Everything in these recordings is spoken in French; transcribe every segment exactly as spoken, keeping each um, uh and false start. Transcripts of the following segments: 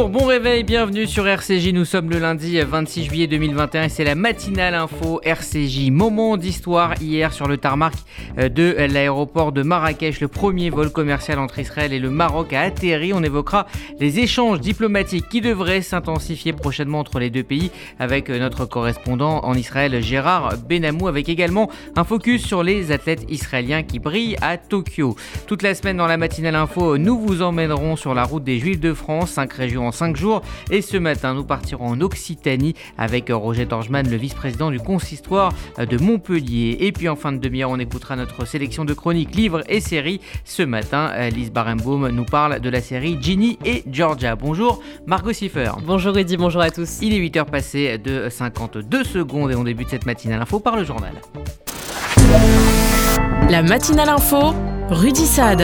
Bonjour, bon réveil, bienvenue sur R C J. Nous sommes le lundi vingt-six juillet deux mille vingt et un et c'est la matinale info R C J. Moment d'histoire hier sur le tarmac de l'aéroport de Marrakech. Le premier vol commercial entre Israël et le Maroc a atterri. On évoquera les échanges diplomatiques qui devraient s'intensifier prochainement entre les deux pays avec notre correspondant en Israël Gérard Benamou, avec également un focus sur les athlètes israéliens qui brillent à Tokyo. Toute la semaine dans la matinale info, nous vous emmènerons sur la route des Juifs de France, cinq régions en cinq jours, et ce matin nous partirons en Occitanie avec Roger Dorjman, le vice-président du consistoire de Montpellier. Et puis en fin de demi-heure, on écoutera notre sélection de chroniques, livres et séries. Ce matin, Lise Barenbaum nous parle de la série Ginny et Georgia. Bonjour Margot Siffer. Bonjour Rudy, bonjour à tous. Il est huit heures passées de cinquante-deux secondes et on débute cette matinale info par le journal. La matinale info, Rudy Saad.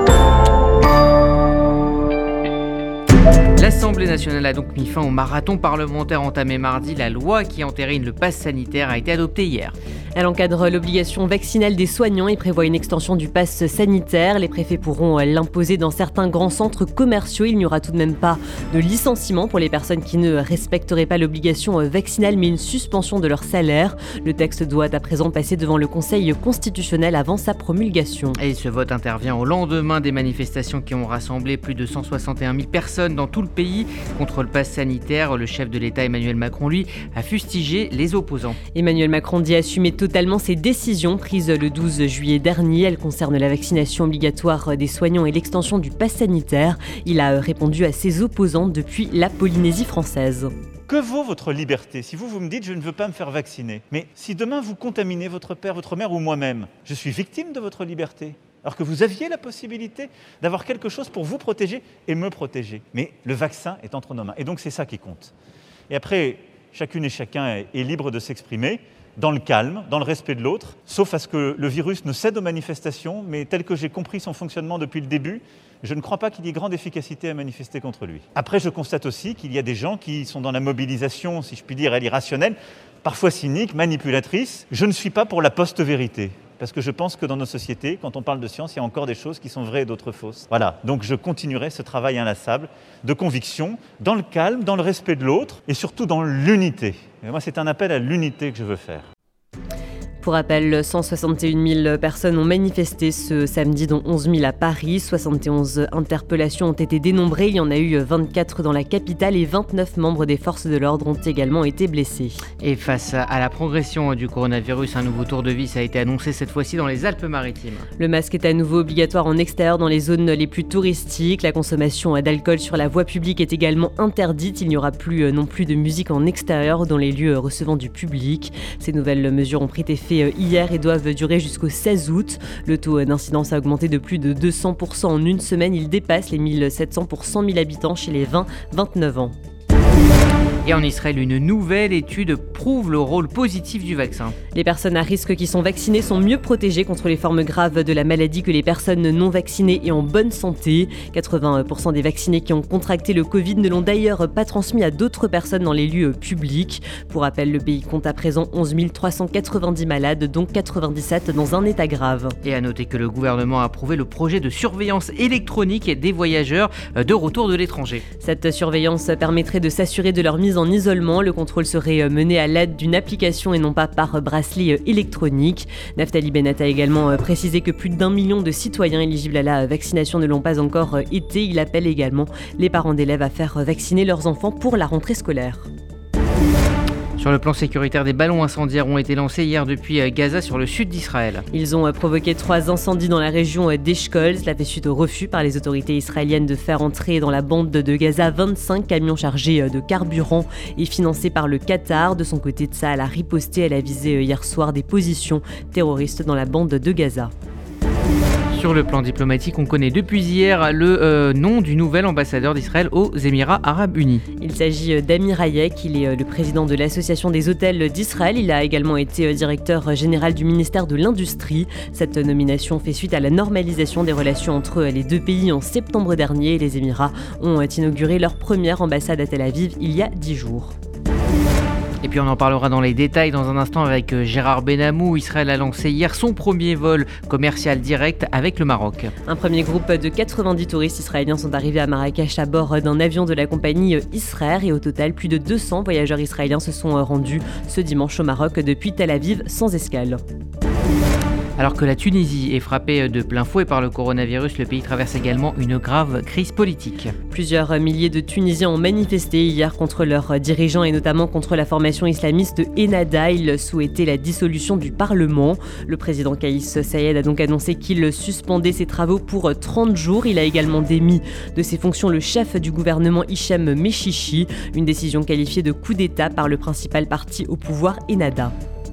L'Assemblée nationale a donc mis fin au marathon parlementaire entamé mardi. La loi qui entérine le pass sanitaire a été adoptée hier. Elle encadre l'obligation vaccinale des soignants et prévoit une extension du pass sanitaire. Les préfets pourront l'imposer dans certains grands centres commerciaux. Il n'y aura tout de même pas de licenciement pour les personnes qui ne respecteraient pas l'obligation vaccinale, mais une suspension de leur salaire. Le texte doit à présent passer devant le Conseil constitutionnel avant sa promulgation. Et ce vote intervient au lendemain des manifestations qui ont rassemblé plus de cent soixante et un mille personnes dans tout le pays contre le pass sanitaire. Le chef de l'État Emmanuel Macron, lui, a fustigé les opposants. Emmanuel Macron dit assumer totalement ses décisions prises le douze juillet dernier. Elles concernent la vaccination obligatoire des soignants et l'extension du pass sanitaire. Il a répondu à ses opposants depuis la Polynésie française. Que vaut votre liberté si vous, vous me dites « je ne veux pas me faire vacciner ». Mais si demain vous contaminez votre père, votre mère ou moi-même, je suis victime de votre liberté. Alors que vous aviez la possibilité d'avoir quelque chose pour vous protéger et me protéger. Mais le vaccin est entre nos mains. Et donc c'est ça qui compte. Et après, chacune et chacun est libre de s'exprimer dans le calme, dans le respect de l'autre, sauf à ce que le virus ne cède aux manifestations, mais tel que j'ai compris son fonctionnement depuis le début, je ne crois pas qu'il y ait grande efficacité à manifester contre lui. Après, je constate aussi qu'il y a des gens qui sont dans la mobilisation, si je puis dire, elle irrationnelle, parfois cynique, manipulatrice. Je ne suis pas pour la post-vérité. Parce que je pense que dans nos sociétés, quand on parle de science, il y a encore des choses qui sont vraies et d'autres fausses. Voilà, donc je continuerai ce travail inlassable de conviction, dans le calme, dans le respect de l'autre et surtout dans l'unité. Et moi, c'est un appel à l'unité que je veux faire. Pour rappel, cent soixante et une mille personnes ont manifesté ce samedi, dont onze mille à Paris. soixante et onze interpellations ont été dénombrées. Il y en a eu vingt-quatre dans la capitale et vingt-neuf membres des forces de l'ordre ont également été blessés. Et face à la progression du coronavirus, un nouveau tour de vis a été annoncé cette fois-ci dans les Alpes-Maritimes. Le masque est à nouveau obligatoire en extérieur dans les zones les plus touristiques. La consommation d'alcool sur la voie publique est également interdite. Il n'y aura plus non plus de musique en extérieur dans les lieux recevant du public. Ces nouvelles mesures ont pris effet hier et doivent durer jusqu'au seize août. Le taux d'incidence a augmenté de plus de deux cents pour cent en une semaine. Il dépasse les mille sept cents pour cent mille habitants chez les vingt à vingt-neuf ans. Et en Israël, une nouvelle étude prouve le rôle positif du vaccin. Les personnes à risque qui sont vaccinées sont mieux protégées contre les formes graves de la maladie que les personnes non vaccinées et en bonne santé. quatre-vingts pour cent des vaccinés qui ont contracté le Covid ne l'ont d'ailleurs pas transmis à d'autres personnes dans les lieux publics. Pour rappel, le pays compte à présent onze mille trois cent quatre-vingt-dix malades, dont quatre-vingt-dix-sept dans un état grave. Et à noter que le gouvernement a approuvé le projet de surveillance électronique des voyageurs de retour de l'étranger. Cette surveillance permettrait de s'assurer de leur mise en isolement. Le contrôle serait mené à l'aide d'une application et non pas par bracelet électronique. Naftali Bennett a également précisé que plus d'un million de citoyens éligibles à la vaccination ne l'ont pas encore été. Il appelle également les parents d'élèves à faire vacciner leurs enfants pour la rentrée scolaire. Sur le plan sécuritaire, des ballons incendiaires ont été lancés hier depuis Gaza sur le sud d'Israël. Ils ont provoqué trois incendies dans la région d'Eshkol. Cela fait suite au refus par les autorités israéliennes de faire entrer dans la bande de Gaza vingt-cinq camions chargés de carburant et financés par le Qatar. De son côté, Tsahal a riposté. Elle a visé hier soir des positions terroristes dans la bande de Gaza. Sur le plan diplomatique, on connaît depuis hier le euh, nom du nouvel ambassadeur d'Israël aux Émirats Arabes Unis. Il s'agit d'Amir Hayek, il est le président de l'Association des hôtels d'Israël. Il a également été directeur général du ministère de l'Industrie. Cette nomination fait suite à la normalisation des relations entre les deux pays en septembre dernier. Les Émirats ont inauguré leur première ambassade à Tel Aviv il y a dix jours. Et puis on en parlera dans les détails dans un instant avec Gérard Benamou. Israël a lancé hier son premier vol commercial direct avec le Maroc. Un premier groupe de quatre-vingt-dix touristes israéliens sont arrivés à Marrakech à bord d'un avion de la compagnie Israël et au total plus de deux cents voyageurs israéliens se sont rendus ce dimanche au Maroc depuis Tel Aviv sans escale. Alors que la Tunisie est frappée de plein fouet par le coronavirus, le pays traverse également une grave crise politique. Plusieurs milliers de Tunisiens ont manifesté hier contre leurs dirigeants et notamment contre la formation islamiste Ennahda. Ils souhaitaient la dissolution du Parlement. Le président Kais Saied a donc annoncé qu'il suspendait ses travaux pour trente jours. Il a également démis de ses fonctions le chef du gouvernement Hichem Mechichi, une décision qualifiée de coup d'État par le principal parti au pouvoir Ennahda.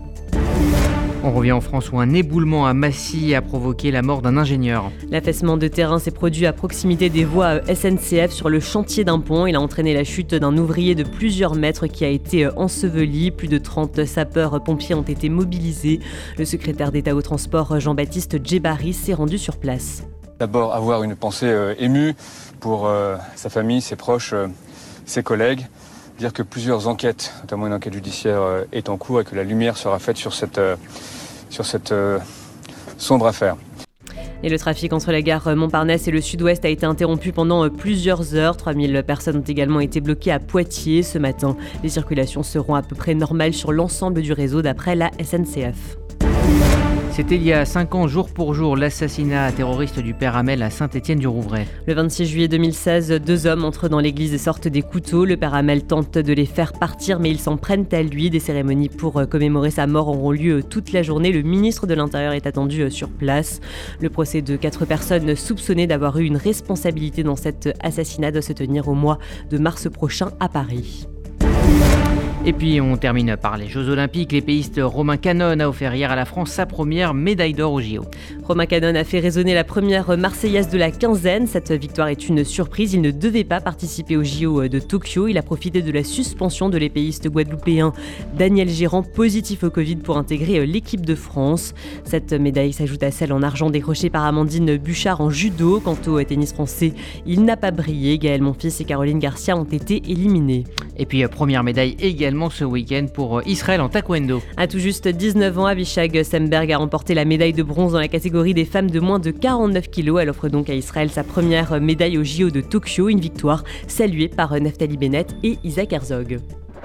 On revient en France où un éboulement à Massy a provoqué la mort d'un ingénieur. L'affaissement de terrain s'est produit à proximité des voies S N C F sur le chantier d'un pont. Il a entraîné la chute d'un ouvrier de plusieurs mètres qui a été enseveli. Plus de trente sapeurs-pompiers ont été mobilisés. Le secrétaire d'État au transport Jean-Baptiste Djebari s'est rendu sur place. D'abord avoir une pensée euh, émue pour euh, sa famille, ses proches, euh, ses collègues. Dire que plusieurs enquêtes, notamment une enquête judiciaire, euh, est en cours et que la lumière sera faite sur cette, euh, sur cette euh, sombre affaire. Et le trafic entre la gare Montparnasse et le sud-ouest a été interrompu pendant plusieurs heures. trois mille personnes ont également été bloquées à Poitiers ce matin. Les circulations seront à peu près normales sur l'ensemble du réseau d'après la S N C F. C'était il y a cinq ans, jour pour jour, l'assassinat terroriste du père Hamel à Saint-Étienne-du-Rouvray. Le vingt-six juillet deux mille seize, deux hommes entrent dans l'église et sortent des couteaux. Le père Hamel tente de les faire partir, mais ils s'en prennent à lui. Des cérémonies pour commémorer sa mort auront lieu toute la journée. Le ministre de l'Intérieur est attendu sur place. Le procès de quatre personnes soupçonnées d'avoir eu une responsabilité dans cet assassinat doit se tenir au mois de mars prochain à Paris. Et puis on termine par les Jeux Olympiques. L'épéiste Romain Canon a offert hier à la France sa première médaille d'or aux J O. Romain Canon a fait résonner la première Marseillaise de la quinzaine. Cette victoire est une surprise. Il ne devait pas participer aux J O de Tokyo. Il a profité de la suspension de l'épéiste guadeloupéen Daniel Gérand, positif au Covid, pour intégrer l'équipe de France. Cette médaille s'ajoute à celle en argent décrochée par Amandine Bouchard en judo. Quant au tennis français, il n'a pas brillé. Gaël Monfils et Caroline Garcia ont été éliminés. Et puis première médaille également ce week-end pour Israël en taekwondo. À tout juste dix-neuf ans, Avishag Semberg a remporté la médaille de bronze dans la catégorie des femmes de moins de quarante-neuf kilos. Elle offre donc à Israël sa première médaille aux J O de Tokyo, une victoire saluée par Naftali Bennett et Isaac Herzog.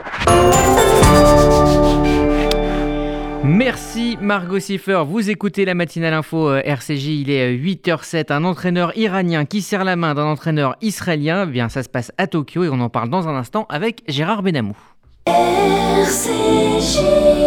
Merci Margot Siffer, vous écoutez la matinale info R C J, il est huit heures zéro sept. Un entraîneur iranien qui serre la main d'un entraîneur israélien, eh bien ça se passe à Tokyo et on en parle dans un instant avec Gérard Benamou. R C J.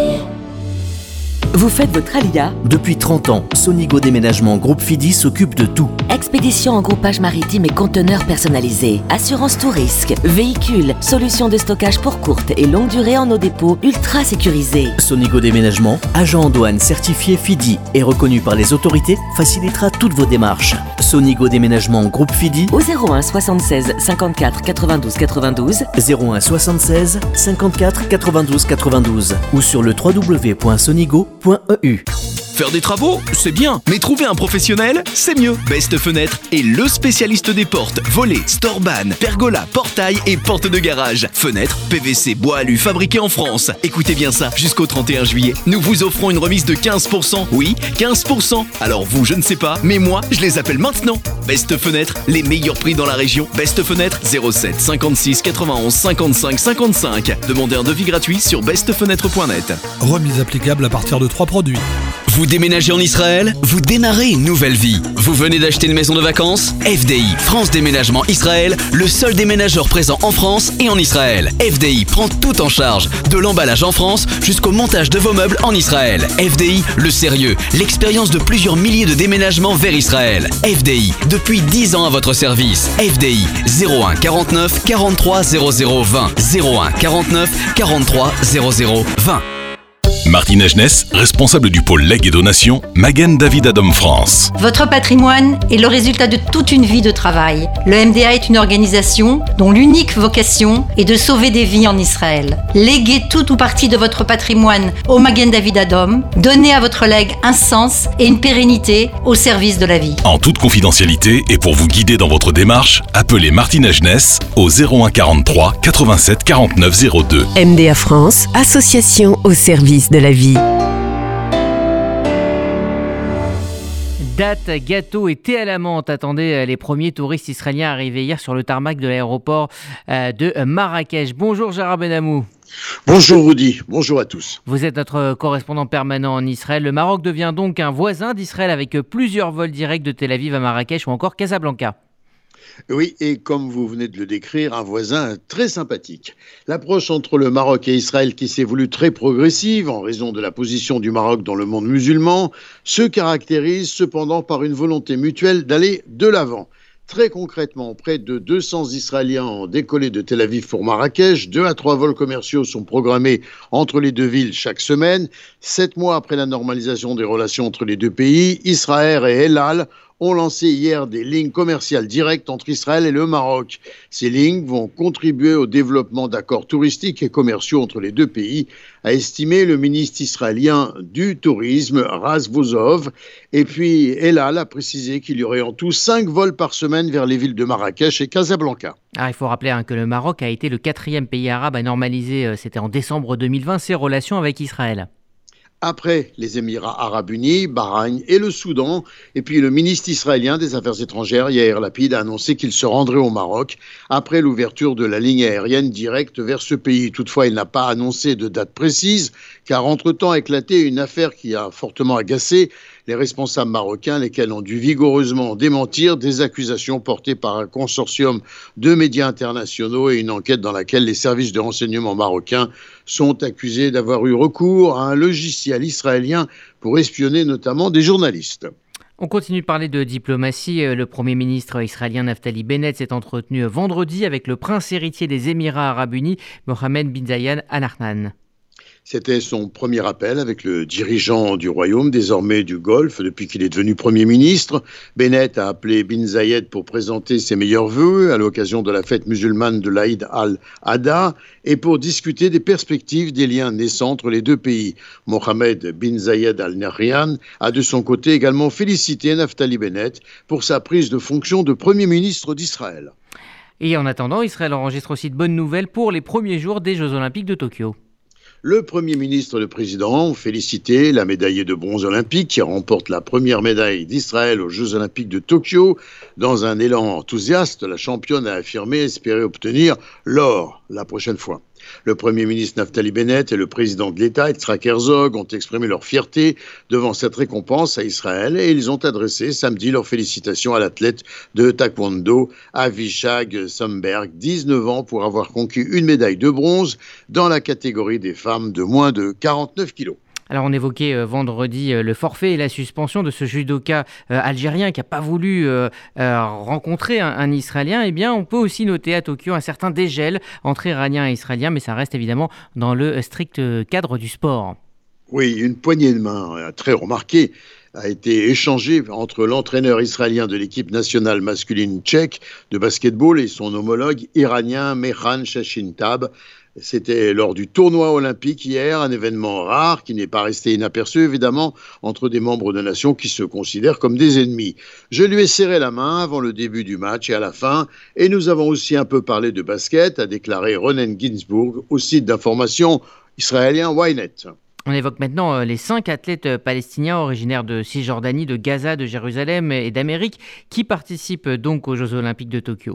Vous faites votre alia ? Depuis trente ans, Sonigo Déménagement Groupe Fidi s'occupe de tout. Expédition en groupage maritime et conteneurs personnalisés, assurance tout risque, véhicules, solutions de stockage pour courte et longue durée en nos dépôts ultra sécurisés. Sonigo Déménagement, agent en douane certifié Fidi et reconnu par les autorités, facilitera toutes vos démarches. Sonigo Déménagement Groupe Fidi au zéro un soixante-seize cinquante-quatre quatre-vingt-douze quatre-vingt-douze, zéro un soixante-seize cinquante-quatre quatre-vingt-douze quatre-vingt-douze ou sur le w w w point sonigo point e u. Faire des travaux, c'est bien, mais trouver un professionnel, c'est mieux. Best Fenêtre est le spécialiste des portes, volets, storban, pergola, portail et portes de garage. Fenêtres, P V C, bois alu, fabriqués en France. Écoutez bien ça, jusqu'au trente et un juillet, nous vous offrons une remise de quinze pour cent. Oui, quinze pour cent. Alors vous, je ne sais pas, mais moi, je les appelle maintenant. Best Fenêtre, les meilleurs prix dans la région. Best Fenêtre, zéro sept cinquante-six quatre-vingt-onze cinquante-cinq cinquante-cinq. Demandez un devis gratuit sur best fenêtre point net. Remise applicable à partir de trois produits. Vous déménagez en Israël ? Vous démarrez une nouvelle vie. Vous venez d'acheter une maison de vacances ? F D I, France Déménagement Israël, le seul déménageur présent en France et en Israël. F D I prend tout en charge, de l'emballage en France jusqu'au montage de vos meubles en Israël. F D I, le sérieux, l'expérience de plusieurs milliers de déménagements vers Israël. F D I, depuis dix ans à votre service. F D I, zéro un quarante-neuf quarante-trois zéro zéro vingt, zéro un quarante-neuf quarante-trois zéro zéro vingt. Martine Agenès, responsable du pôle legs et donations, Magen David Adom France. Votre patrimoine est le résultat de toute une vie de travail. Le M D A est une organisation dont l'unique vocation est de sauver des vies en Israël. Léguez tout ou partie de votre patrimoine au Magen David Adom. Donnez à votre legs un sens et une pérennité au service de la vie. En toute confidentialité et pour vous guider dans votre démarche, appelez Martine Agenès au zéro un quarante-trois quatre-vingt-sept quarante-neuf zéro deux. M D A France, association au service de la vie. Dates, gâteaux et thé à la menthe attendaient les premiers touristes israéliens arrivés hier sur le tarmac de l'aéroport de Marrakech. Bonjour Gérard Benamou. Bonjour Rudy, bonjour à tous. Vous êtes notre correspondant permanent en Israël. Le Maroc devient donc un voisin d'Israël avec plusieurs vols directs de Tel Aviv à Marrakech ou encore Casablanca. Oui, et comme vous venez de le décrire, un voisin très sympathique. L'approche entre le Maroc et Israël, qui s'est voulue très progressive en raison de la position du Maroc dans le monde musulman, se caractérise cependant par une volonté mutuelle d'aller de l'avant. Très concrètement, près de deux cents Israéliens ont décollé de Tel Aviv pour Marrakech. Deux à trois vols commerciaux sont programmés entre les deux villes chaque semaine. Sept mois après la normalisation des relations entre les deux pays, Israël et El Al ont lancé hier des lignes commerciales directes entre Israël et le Maroc. Ces lignes vont contribuer au développement d'accords touristiques et commerciaux entre les deux pays, a estimé le ministre israélien du tourisme, Raz Vozov. Et puis, El Al a précisé qu'il y aurait en tout cinq vols par semaine vers les villes de Marrakech et Casablanca. Ah, il faut rappeler hein, que le Maroc a été le quatrième pays arabe à normaliser, euh, c'était en décembre deux mille vingt, ses relations avec Israël. Après les Émirats arabes unis, Bahreïn et le Soudan. Et puis le ministre israélien des Affaires étrangères, Yair Lapid, a annoncé qu'il se rendrait au Maroc après l'ouverture de la ligne aérienne directe vers ce pays. Toutefois, il n'a pas annoncé de date précise, car entre-temps a éclaté une affaire qui a fortement agacé les responsables marocains, lesquels ont dû vigoureusement démentir des accusations portées par un consortium de médias internationaux et une enquête dans laquelle les services de renseignement marocains sont accusés d'avoir eu recours à un logiciel israélien pour espionner notamment des journalistes. On continue de parler de diplomatie. Le Premier ministre israélien Naftali Bennett s'est entretenu vendredi avec le prince héritier des Émirats arabes unis, Mohammed bin Zayed Al Nahyan. C'était son premier appel avec le dirigeant du royaume, désormais du Golfe, depuis qu'il est devenu Premier ministre. Bennett a appelé bin Zayed pour présenter ses meilleurs vœux à l'occasion de la fête musulmane de l'Aïd al-Adha et pour discuter des perspectives des liens naissants entre les deux pays. Mohammed bin Zayed Al Nahyan a de son côté également félicité Naftali Bennett pour sa prise de fonction de Premier ministre d'Israël. Et en attendant, Israël enregistre aussi de bonnes nouvelles pour les premiers jours des Jeux Olympiques de Tokyo. Le Premier ministre et le Président ont félicité la médaillée de bronze olympique qui remporte la première médaille d'Israël aux Jeux Olympiques de Tokyo. Dans un élan enthousiaste, la championne a affirmé espérer obtenir l'or la prochaine fois. Le Premier ministre Naftali Bennett et le président de l'État, Yitzhak Herzog, ont exprimé leur fierté devant cette récompense à Israël et ils ont adressé samedi leurs félicitations à l'athlète de taekwondo Avishag Somberg, dix-neuf ans, pour avoir conquis une médaille de bronze dans la catégorie des femmes de moins de quarante-neuf kilos. Alors on évoquait euh, vendredi euh, le forfait et la suspension de ce judoka euh, algérien qui n'a pas voulu euh, euh, rencontrer un, un Israélien. Eh bien, on peut aussi noter à Tokyo un certain dégel entre Iraniens et Israéliens, mais ça reste évidemment dans le strict cadre du sport. Oui, une poignée de main euh, très remarquée a été échangée entre l'entraîneur israélien de l'équipe nationale masculine tchèque de basketball et son homologue iranien Mehran Shashintab. C'était lors du tournoi olympique hier, un événement rare qui n'est pas resté inaperçu évidemment entre des membres de nations qui se considèrent comme des ennemis. Je lui ai serré la main avant le début du match et à la fin, et nous avons aussi un peu parlé de basket, a déclaré Ronen Ginsburg au site d'information israélien Ynet. On évoque maintenant les cinq athlètes palestiniens originaires de Cisjordanie, de Gaza, de Jérusalem et d'Amérique qui participent donc aux Jeux Olympiques de Tokyo.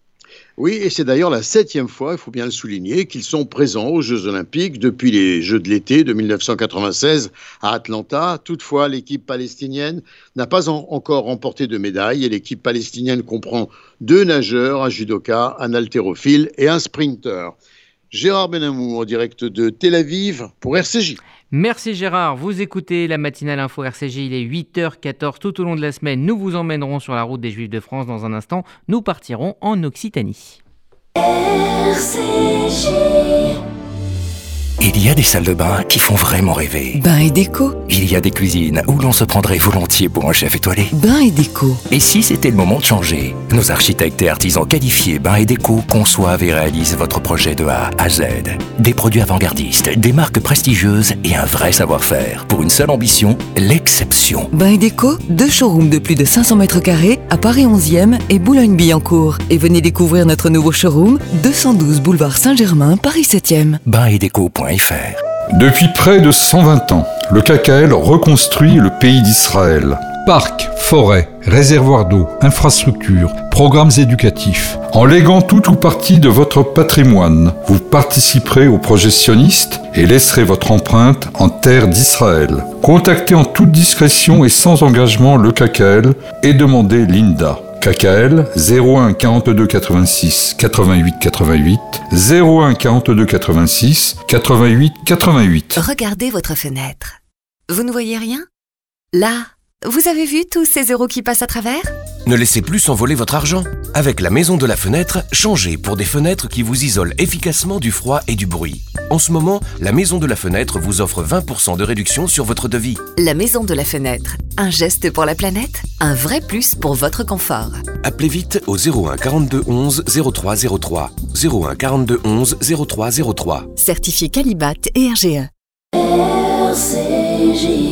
Oui, et c'est d'ailleurs la septième fois, il faut bien le souligner, qu'ils sont présents aux Jeux Olympiques depuis les Jeux de l'été de dix-neuf cent quatre-vingt-seize à Atlanta. Toutefois, l'équipe palestinienne n'a pas en- encore remporté de médaille et l'équipe palestinienne comprend deux nageurs, un judoka, un haltérophile et un sprinter. Gérard Benamou en direct de Tel Aviv pour R C J. Merci Gérard, vous écoutez la matinale info R C J, il est huit heures quatorze tout au long de la semaine. Nous vous emmènerons sur la route des Juifs de France. Dans un instant, nous partirons en Occitanie. R C J. Il y a des salles de bain qui font vraiment rêver. Bain et déco. Il y a des cuisines où l'on se prendrait volontiers pour un chef étoilé. Bain et déco. Et si c'était le moment de changer? Nos architectes et artisans qualifiés Bain et Déco conçoivent et réalisent votre projet de A à Z. Des produits avant-gardistes, des marques prestigieuses et un vrai savoir-faire. Pour une seule ambition, l'exception. Bain et déco, deux showrooms de plus de cinq cents mètres carrés à Paris onzième et Boulogne-Billancourt. Et venez découvrir notre nouveau showroom, deux cent douze boulevard Saint-Germain, Paris septième. bain et déco point f r. Depuis près de cent vingt ans, le K K L reconstruit le pays d'Israël. Parcs, forêts, réservoirs d'eau, infrastructures, programmes éducatifs. En léguant tout ou partie de votre patrimoine, vous participerez au projet sioniste et laisserez votre empreinte en terre d'Israël. Contactez en toute discrétion et sans engagement le K K L et demandez Linda. K K L zéro un quarante-deux quatre-vingt-six quatre-vingt-huit quatre-vingt-huit zéro un quarante-deux quatre-vingt-six quatre-vingt-huit quatre-vingt-huit. Regardez votre fenêtre. Vous ne voyez rien? Là, vous avez vu tous ces euros qui passent à travers? Ne laissez plus s'envoler votre argent. Avec la Maison de la Fenêtre, changez pour des fenêtres qui vous isolent efficacement du froid et du bruit. En ce moment, la Maison de la Fenêtre vous offre vingt pour cent de réduction sur votre devis. La Maison de la Fenêtre. Un geste pour la planète, un vrai plus pour votre confort. Appelez vite au zéro un quarante-deux onze zéro trois zéro trois. zéro un quarante-deux onze zéro trois zéro trois. Certifié Qualibat et R G E. R C J.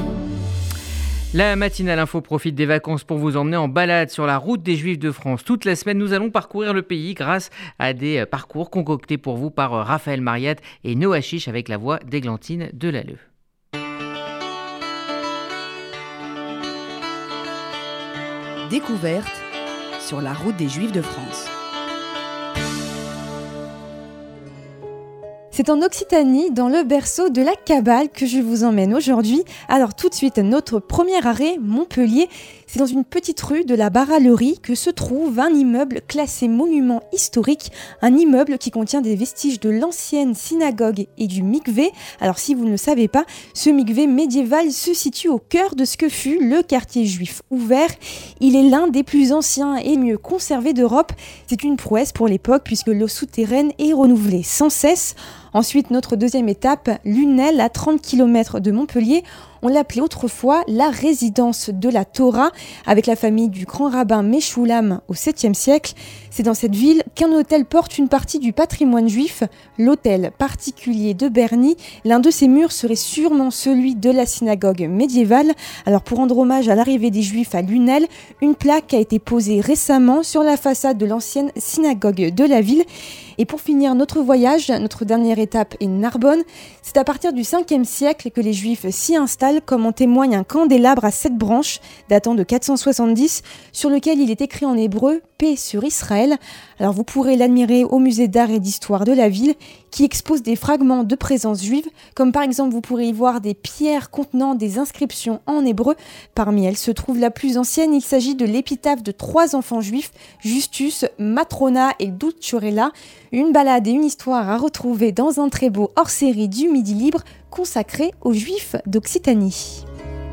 La matinale info profite des vacances pour vous emmener en balade sur la route des Juifs de France. Toute la semaine, nous allons parcourir le pays grâce à des parcours concoctés pour vous par Raphaël Mariat et Noah Chiche avec la voix d'Églantine Delalleux. Découverte sur la route des Juifs de France. C'est en Occitanie, dans le berceau de la Kabbale, que je vous emmène aujourd'hui. Alors tout de suite, notre premier arrêt, Montpellier. C'est dans une petite rue de la Barallerie que se trouve un immeuble classé monument historique, un immeuble qui contient des vestiges de l'ancienne synagogue et du mikvé. Alors si vous ne le savez pas, ce mikvé médiéval se situe au cœur de ce que fut le quartier juif ouvert. Il est l'un des plus anciens et mieux conservés d'Europe. C'est une prouesse pour l'époque puisque l'eau souterraine est renouvelée sans cesse. Ensuite, notre deuxième étape, Lunel, à trente kilomètres de Montpellier. On l'appelait autrefois la résidence de la Torah, avec la famille du grand rabbin Meshoulam au septième siècle. C'est dans cette ville qu'un hôtel porte une partie du patrimoine juif, l'hôtel particulier de Berny. L'un de ses murs serait sûrement celui de la synagogue médiévale. Alors pour rendre hommage à l'arrivée des Juifs à Lunel, une plaque a été posée récemment sur la façade de l'ancienne synagogue de la ville. Et pour finir notre voyage, notre dernière étape est Narbonne. C'est à partir du cinquième siècle que les Juifs s'y installent, comme en témoigne un candélabre à sept branches datant de quatre cent soixante-dix, sur lequel il est écrit en hébreu « Paix sur Israël ». Alors vous pourrez l'admirer au musée d'art et d'histoire de la ville, qui expose des fragments de présence juive, comme par exemple vous pourrez y voir des pierres contenant des inscriptions en hébreu. Parmi elles se trouve la plus ancienne, il s'agit de l'épitaphe de trois enfants juifs, Justus, Matrona et Dulciorella. Une balade et une histoire à retrouver dans un très beau hors-série du Midi Libre consacré aux Juifs d'Occitanie.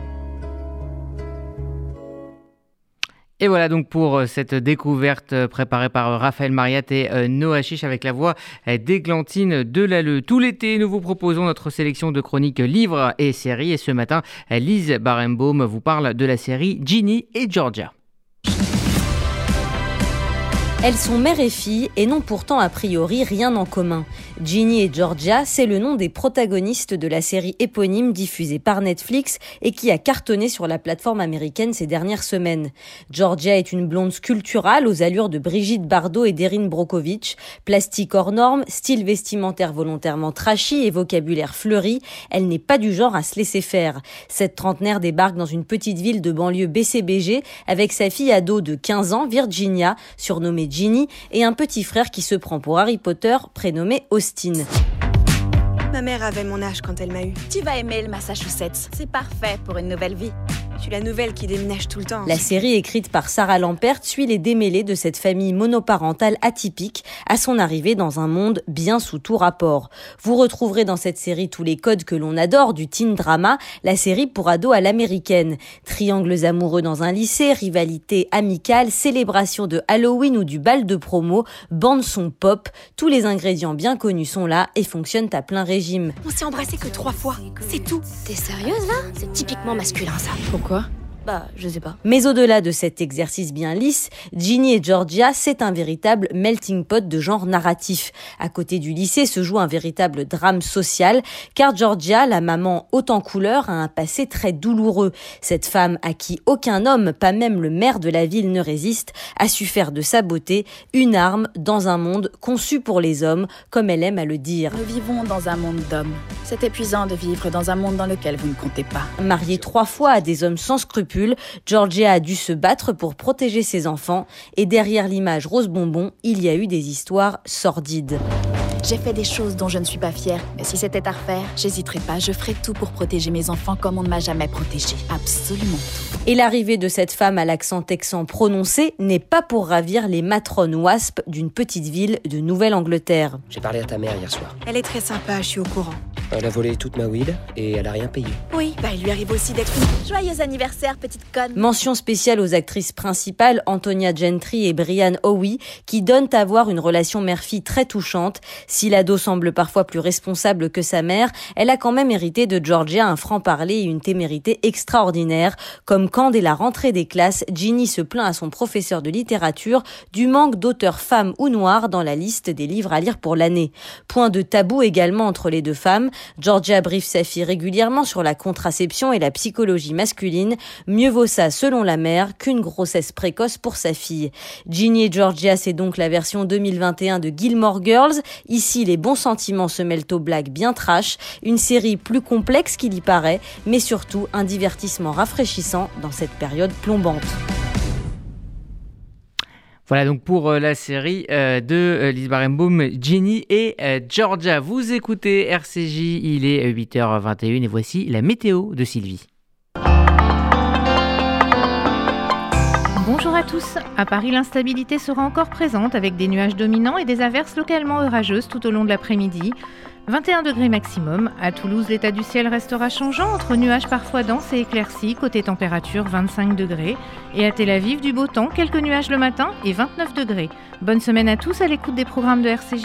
Et voilà donc pour cette découverte préparée par Raphaël Mariat et Noah Chiche avec la voix d'Églantine Delalleux. Tout l'été, nous vous proposons notre sélection de chroniques livres et séries. Et ce matin, Lise Barenbaum vous parle de la série Ginny et Georgia. Elles sont mère et fille et n'ont pourtant a priori rien en commun. Ginny et Georgia, c'est le nom des protagonistes de la série éponyme diffusée par Netflix et qui a cartonné sur la plateforme américaine ces dernières semaines. Georgia est une blonde sculpturale aux allures de Brigitte Bardot et d'Erin Brockovich. Plastique hors norme, style vestimentaire volontairement trashy et vocabulaire fleuri, elle n'est pas du genre à se laisser faire. Cette trentenaire débarque dans une petite ville de banlieue B C B G avec sa fille ado de quinze ans, Virginia, surnommée Ginny, et un petit frère qui se prend pour Harry Potter, prénommé Austin. Ma mère avait mon âge quand elle m'a eu. Tu vas aimer le Massachusetts, c'est parfait pour une nouvelle vie. Je suis la nouvelle qui déménage tout le temps. La série écrite par Sarah Lampert suit les démêlés de cette famille monoparentale atypique à son arrivée dans un monde bien sous tout rapport. Vous retrouverez dans cette série tous les codes que l'on adore du teen drama, la série pour ados à l'américaine. Triangles amoureux dans un lycée, rivalité amicale, célébration de Halloween ou du bal de promo, bande son pop, tous les ingrédients bien connus sont là et fonctionnent à plein régime. On s'est embrassé que trois fois, c'est tout. T'es sérieuse là? C'est typiquement masculin ça. Pourquoi ? Bah, je sais pas. Mais au-delà de cet exercice bien lisse, Ginny et Georgia, c'est un véritable melting pot de genre narratif. À côté du lycée se joue un véritable drame social, car Georgia, la maman haute en couleur, a un passé très douloureux. Cette femme à qui aucun homme, pas même le maire de la ville, ne résiste, a su faire de sa beauté une arme dans un monde conçu pour les hommes, comme elle aime à le dire. Nous vivons dans un monde d'hommes. C'est épuisant de vivre dans un monde dans lequel vous ne comptez pas. Mariée trois fois à des hommes sans scrupules, Georgia a dû se battre pour protéger ses enfants et derrière l'image rose bonbon, il y a eu des histoires sordides. J'ai fait des choses dont je ne suis pas fière, mais si c'était à refaire, j'hésiterais pas, je ferais tout pour protéger mes enfants comme on ne m'a jamais protégée. Absolument tout. Et l'arrivée de cette femme à l'accent texan prononcé n'est pas pour ravir les matrones wasp d'une petite ville de Nouvelle-Angleterre. J'ai parlé à ta mère hier soir. Elle est très sympa, je suis au courant. Elle a volé toute ma weed et elle a rien payé. Oui, bah il lui arrive aussi d'être une... Joyeux anniversaire, petite conne. Mention spéciale aux actrices principales, Antonia Gentry et Brianne Howie, qui donnent à voir une relation mère-fille très touchante. Si l'ado semble parfois plus responsable que sa mère, elle a quand même hérité de Georgia un franc-parler et une témérité extraordinaire. Comme quand, dès la rentrée des classes, Ginny se plaint à son professeur de littérature du manque d'auteurs femmes ou noires dans la liste des livres à lire pour l'année. Point de tabou également entre les deux femmes. Georgia briefe sa fille régulièrement sur la contraception et la psychologie masculine. Mieux vaut ça, selon la mère, qu'une grossesse précoce pour sa fille. Ginny et Georgia, c'est donc la version deux mille vingt et un de Gilmore Girls. Ici, les bons sentiments se mêlent aux blagues bien trash. Une série plus complexe qu'il y paraît, mais surtout un divertissement rafraîchissant dans cette période plombante. Voilà donc pour euh, la série euh, de euh, Lise Barenboim, Ginny et euh, Georgia. Vous écoutez R C J, il est huit heures vingt et une et voici la météo de Sylvie. Bonjour à tous. À Paris, l'instabilité sera encore présente avec des nuages dominants et des averses localement orageuses tout au long de l'après-midi. vingt et un degrés maximum. À Toulouse, l'état du ciel restera changeant entre nuages parfois denses et éclaircis. Côté température, vingt-cinq degrés. Et à Tel Aviv, du beau temps, quelques nuages le matin et vingt-neuf degrés. Bonne semaine à tous à l'écoute des programmes de R C J.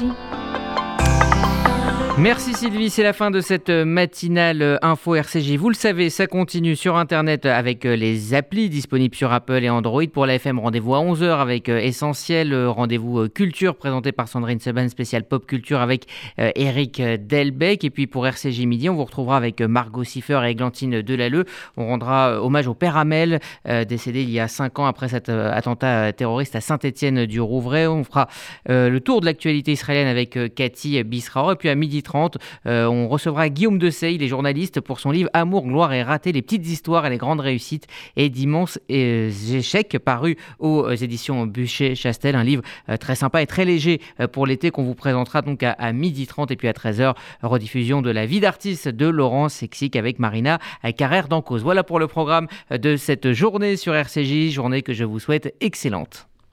Merci Sylvie, c'est la fin de cette matinale info R C J. Vous le savez, ça continue sur Internet avec les applis disponibles sur Apple et Android. Pour la F M, rendez-vous à onze heures avec Essentiel, rendez-vous culture présenté par Sandrine Seban, spécial pop culture avec Eric Delbecq. Et puis pour R C J Midi, on vous retrouvera avec Margot Siffer et Églantine Delalleux. On rendra hommage au père Hamel, décédé il y a cinq ans après cet attentat terroriste à Saint-Étienne-du-Rouvray. On fera le tour de l'actualité israélienne avec Cathy Bisraor. Et puis à midi trente, euh, on recevra Guillaume Dessay, il est journaliste, pour son livre Amour, gloire et raté, les petites histoires et les grandes réussites et d'immenses euh, échecs, paru aux éditions Buchet-Chastel, un livre euh, très sympa et très léger euh, pour l'été qu'on vous présentera donc à, à midi trente et puis à treize heures, rediffusion de La vie d'artiste de Laurent Sexic avec Marina Carrère d'Encausse. Voilà pour le programme de cette journée sur R C J, journée que je vous souhaite excellente.